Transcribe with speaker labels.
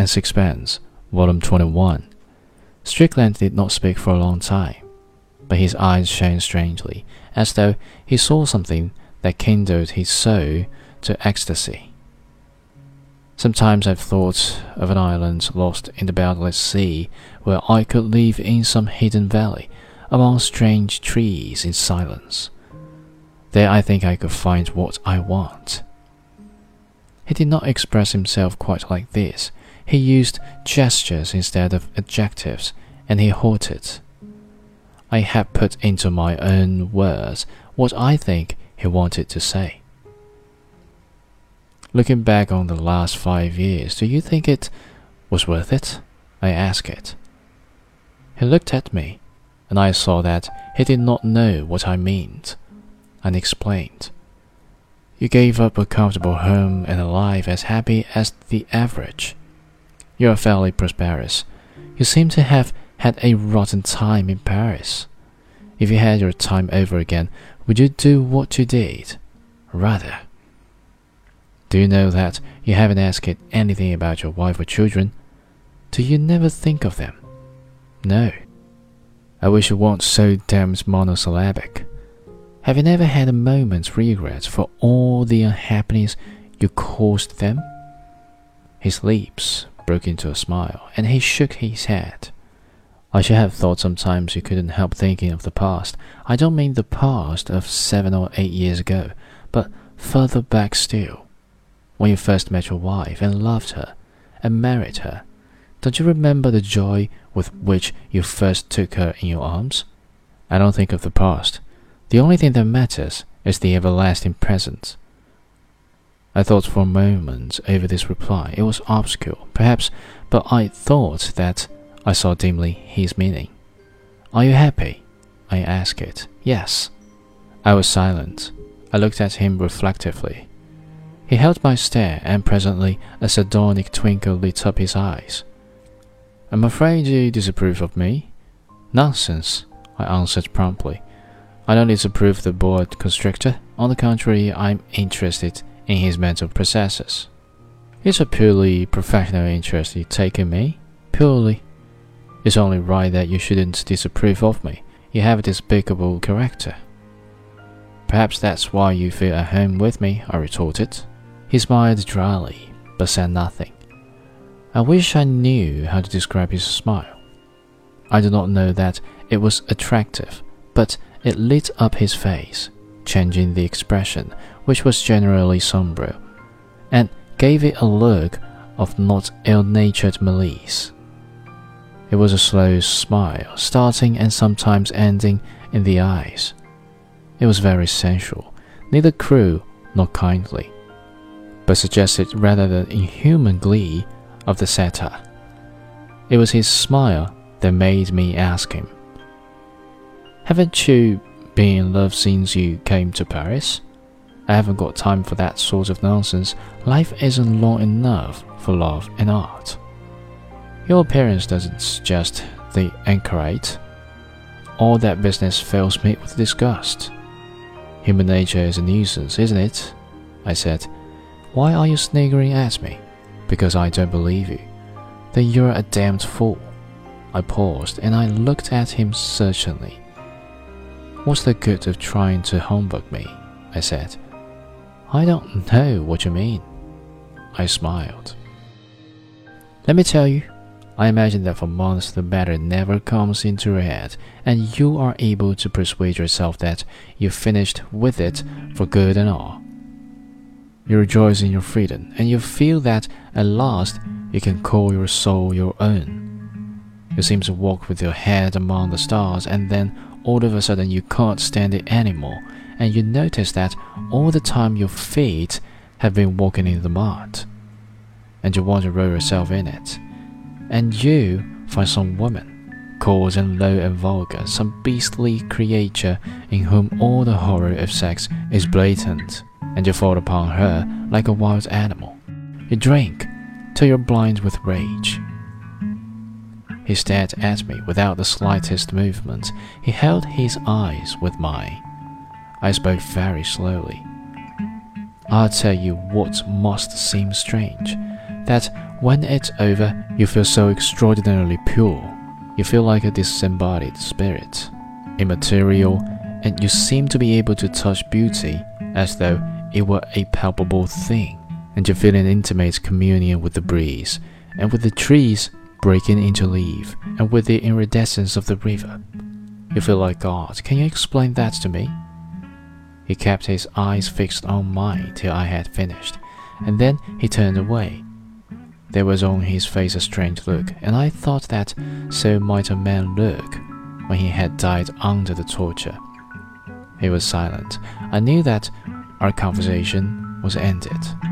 Speaker 1: and Sixpence, Volume 21. Strickland did not speak for a long time, but his eyes shone strangely, as though he saw something that kindled his soul to ecstasy. Sometimes I've thought of an island lost in the boundless sea, where I could live in some hidden valley, among strange trees in silence. There I think I could find what I want. He did not express himself quite like this. He used gestures instead of adjectives, and he halted. I have put into my own words what I think he wanted to say. Looking back on the last 5 years, do you think it was worth it? I asked it. He looked at me, and I saw that he did not know what I meant, and explained. You gave up a comfortable home and a life as happy as the average. You are fairly prosperous. You seem to have had a rotten time in Paris. If you had your time over again, would you do what you did? Rather. Do you know that you haven't asked anything about your wife or children? Do you never think of them? No. I wish you weren't so damned monosyllabic. Have you never had a moment's regret for all the unhappiness you caused them? His lips broke into a smile, and he shook his head. I should have thought sometimes you couldn't help thinking of the past. I don't mean the past of 7 or 8 years ago, but further back still. When you first met your wife and loved her and married her, don't you remember the joy with which you first took her in your arms? I don't think of the past. The only thing that matters is the everlasting present. I thought for a moment over this reply. It was obscure, perhaps, but I thought that I saw dimly his meaning. Are you happy? I asked it. Yes. I was silent. I looked at him reflectively. He held my stare, and presently a sardonic twinkle lit up his eyes. I'm afraid you disapprove of me? Nonsense, I answered promptly. I don't disapprove of the bored constrictor. On the contrary, I'm interested in his mental processes. It's a purely professional interest you take in me. Purely. It's only right that you shouldn't disapprove of me. You have a despicable character. Perhaps that's why you feel at home with me, I retorted. He smiled dryly, but said nothing. I wish I knew how to describe his smile. I do not know that it was attractive, but it lit up his face, changing the expression, which was generally sombre, and gave it a look of not ill-natured malice. It was a slow smile, starting and sometimes ending in the eyes. It was very sensual, neither cruel nor kindly, but suggested rather the inhuman glee of the satyr. It was his smile that made me ask him, Haven't you been in love since you came to Paris? I haven't got time for that sort of nonsense. Life isn't long enough for love and art. Your appearance doesn't suggest the anchorite. All that business fills me with disgust. Human nature is a nuisance, isn't it? I said. Why are you sniggering at me? Because I don't believe you. Then you're a damned fool. I paused, and I looked at him searchingly. What's the good of trying to humbug me? I said. I don't know what you mean. I smiled. Let me tell you, I imagine that for months the matter never comes into your head, and you are able to persuade yourself that you've finished with it for good and all. You rejoice in your freedom, and you feel that at last you can call your soul your own. You seem to walk with your head among the stars, and then all of a sudden you can't stand it anymore, and you notice that all the time your feet have been walking in the mud, and you want to roll yourself in it. And you find some woman, coarse and low and vulgar, some beastly creature in whom all the horror of sex is blatant, and you fall upon her like a wild animal. You drink till you're blind with rage. He stared at me without the slightest movement. He held his eyes with mine. I spoke very slowly. I'll tell you what must seem strange, that When it's over, you feel so extraordinarily pure. You feel like a disembodied spirit, immaterial, and you seem to be able to touch beauty as though it were a palpable thing, and you feel an intimate communion with the breeze, and with the trees breaking into leaf, and with the iridescence of the river. You feel like God. Can you explain that to me? He kept his eyes fixed on mine till I had finished, and then he turned away. There was on his face a strange look, and I thought that so might a man look when he had died under the torture. He was silent. I knew that our conversation was ended.